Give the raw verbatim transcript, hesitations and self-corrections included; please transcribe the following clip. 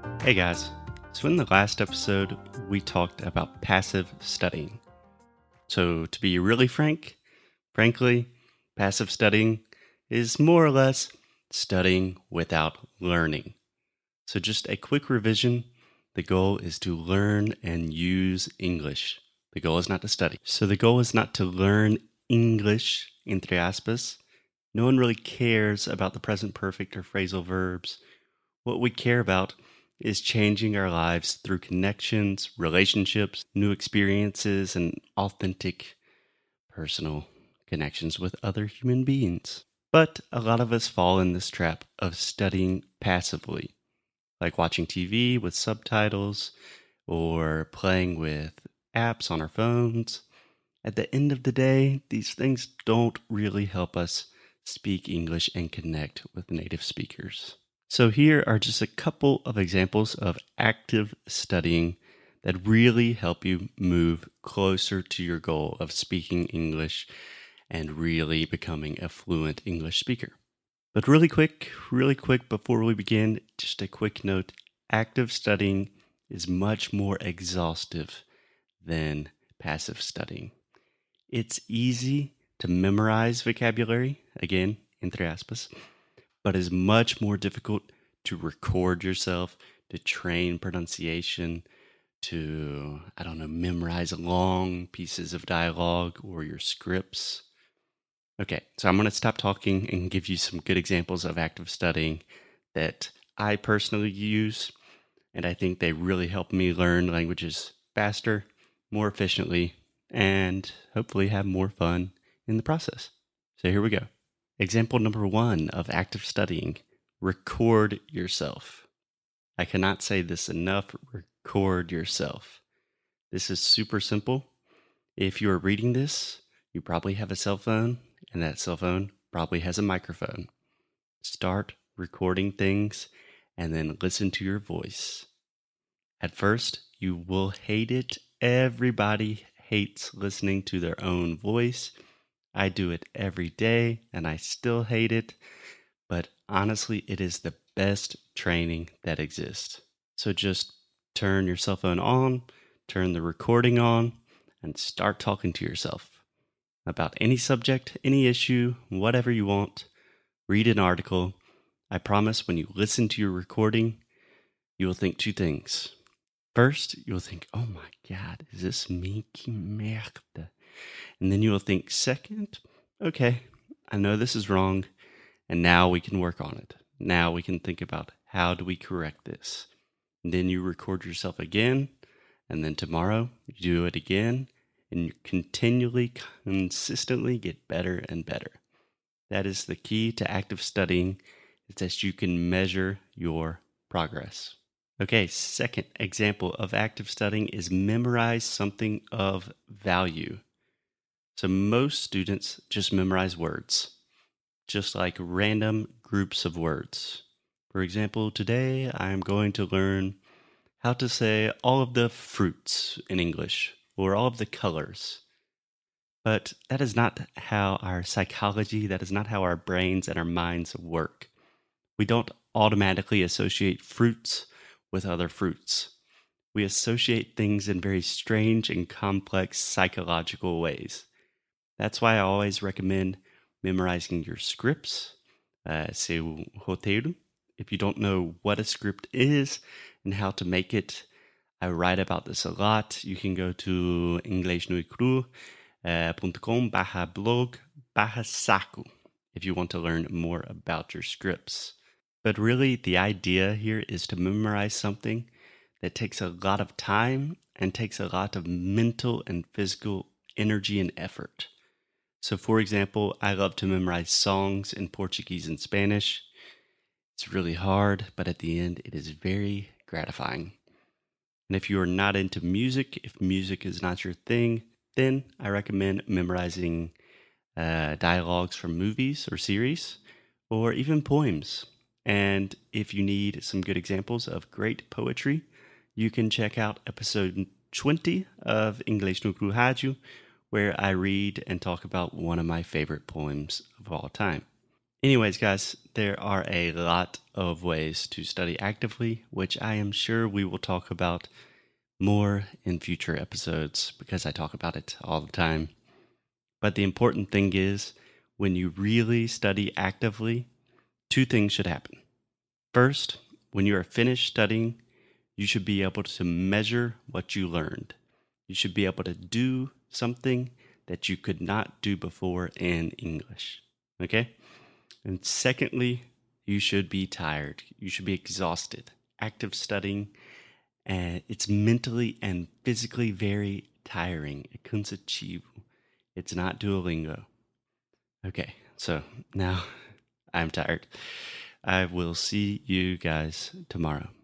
Hey guys, so in the last episode, we talked about passive studying. So, to be really frank, frankly, passive studying is more or less studying without learning. So, just a quick revision, the goal is to learn and use English. The goal is not to study. So, the goal is not to learn English, entre aspas. No one really cares about the present perfect or phrasal verbs. What we care about is changing our lives through connections, relationships, new experiences, and authentic personal connections with other human beings. But a lot of us fall in this trap of studying passively, like watching T V with subtitles or playing with apps on our phones. At the end of the day, these things don't really help us speak English and connect with native speakers. So here are just a couple of examples of active studying that really help you move closer to your goal of speaking English and really becoming a fluent English speaker. But really quick, really quick before we begin, just a quick note. Active studying is much more exhaustive than passive studying. It's easy to memorize vocabulary, again, entre aspas, but is much more difficult to record yourself, to train pronunciation, to, I don't know, memorize long pieces of dialogue or your scripts. Okay, so I'm going to stop talking and give you some good examples of active studying that I personally use, and I think they really help me learn languages faster, more efficiently, and hopefully have more fun in the process. So here we go. Example number one of active studying, record yourself. I cannot say this enough, record yourself. This is super simple. If you are reading this, you probably have a cell phone, and that cell phone probably has a microphone. Start recording things and then listen to your voice. At first, you will hate it. Everybody hates listening to their own voice. I do it every day and I still hate it, but honestly, it is the best training that exists. So just turn your cell phone on, turn the recording on, and start talking to yourself about any subject, any issue, whatever you want. Read an article. I promise when you listen to your recording, you will think two things. First, you'll think, oh my God, is this me? Que merde. And then you will think, second, okay, I know this is wrong, and now we can work on it. Now we can think about how do we correct this. And then you record yourself again, and then tomorrow you do it again, and you continually, consistently get better and better. That is the key to active studying, is that you can measure your progress. Okay, second example of active studying is memorize something of value. So most students just memorize words, just like random groups of words. For example, today I'm going to learn how to say all of the fruits in English, or all of the colors. But that is not how our psychology, that is not how our brains and our minds work. We don't automatically associate fruits with other fruits. We associate things in very strange and complex psychological ways. That's why I always recommend memorizing your scripts, uh, seu roteiro. If you don't know what a script is and how to make it, I write about this a lot. You can go to inglesnuicru dot com barra blog barra saco if you want to learn more about your scripts. But really, the idea here is to memorize something that takes a lot of time and takes a lot of mental and physical energy and effort. So, for example, I love to memorize songs in Portuguese and Spanish. It's really hard, but at the end, it is very gratifying. And if you are not into music, if music is not your thing, then I recommend memorizing uh, dialogues from movies or series, or even poems. And if you need some good examples of great poetry, you can check out episode twenty of Inglês no Cru Rádio, where I read and talk about one of my favorite poems of all time. Anyways, guys, there are a lot of ways to study actively, which I am sure we will talk about more in future episodes because I talk about it all the time. But the important thing is, when you really study actively, two things should happen. First, when you are finished studying, you should be able to measure what you learned. You should be able to do something that you could not do before in English. Okay? And secondly, you should be tired. You should be exhausted. Active studying, uh, it's mentally and physically very tiring. É cansativo. It's not Duolingo. Okay, so now I'm tired. I will see you guys tomorrow.